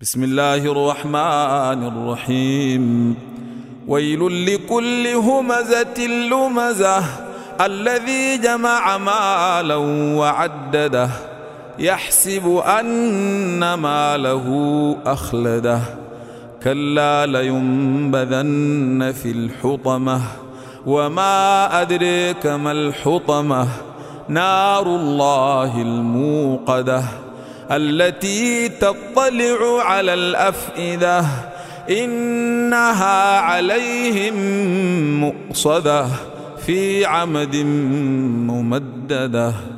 بسم الله الرحمن الرحيم. ويل لكل همزة لمزة الذي جمع مالا وعدده يحسب أن ماله أخلده كلا لينبذن في الحطمة وما أدريك ما الحطمة نار الله الموقدة التي تطلع على الأفئدة إنها عليهم مؤصدة في عمد ممددة.